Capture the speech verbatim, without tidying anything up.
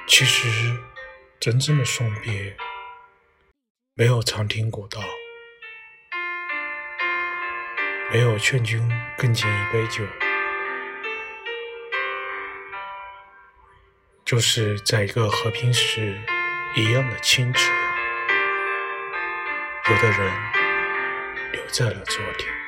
其实真正的送别没有长亭古道，没有劝君更尽一杯酒，就是在一个和平时一样的清澈。有的人留在了昨天。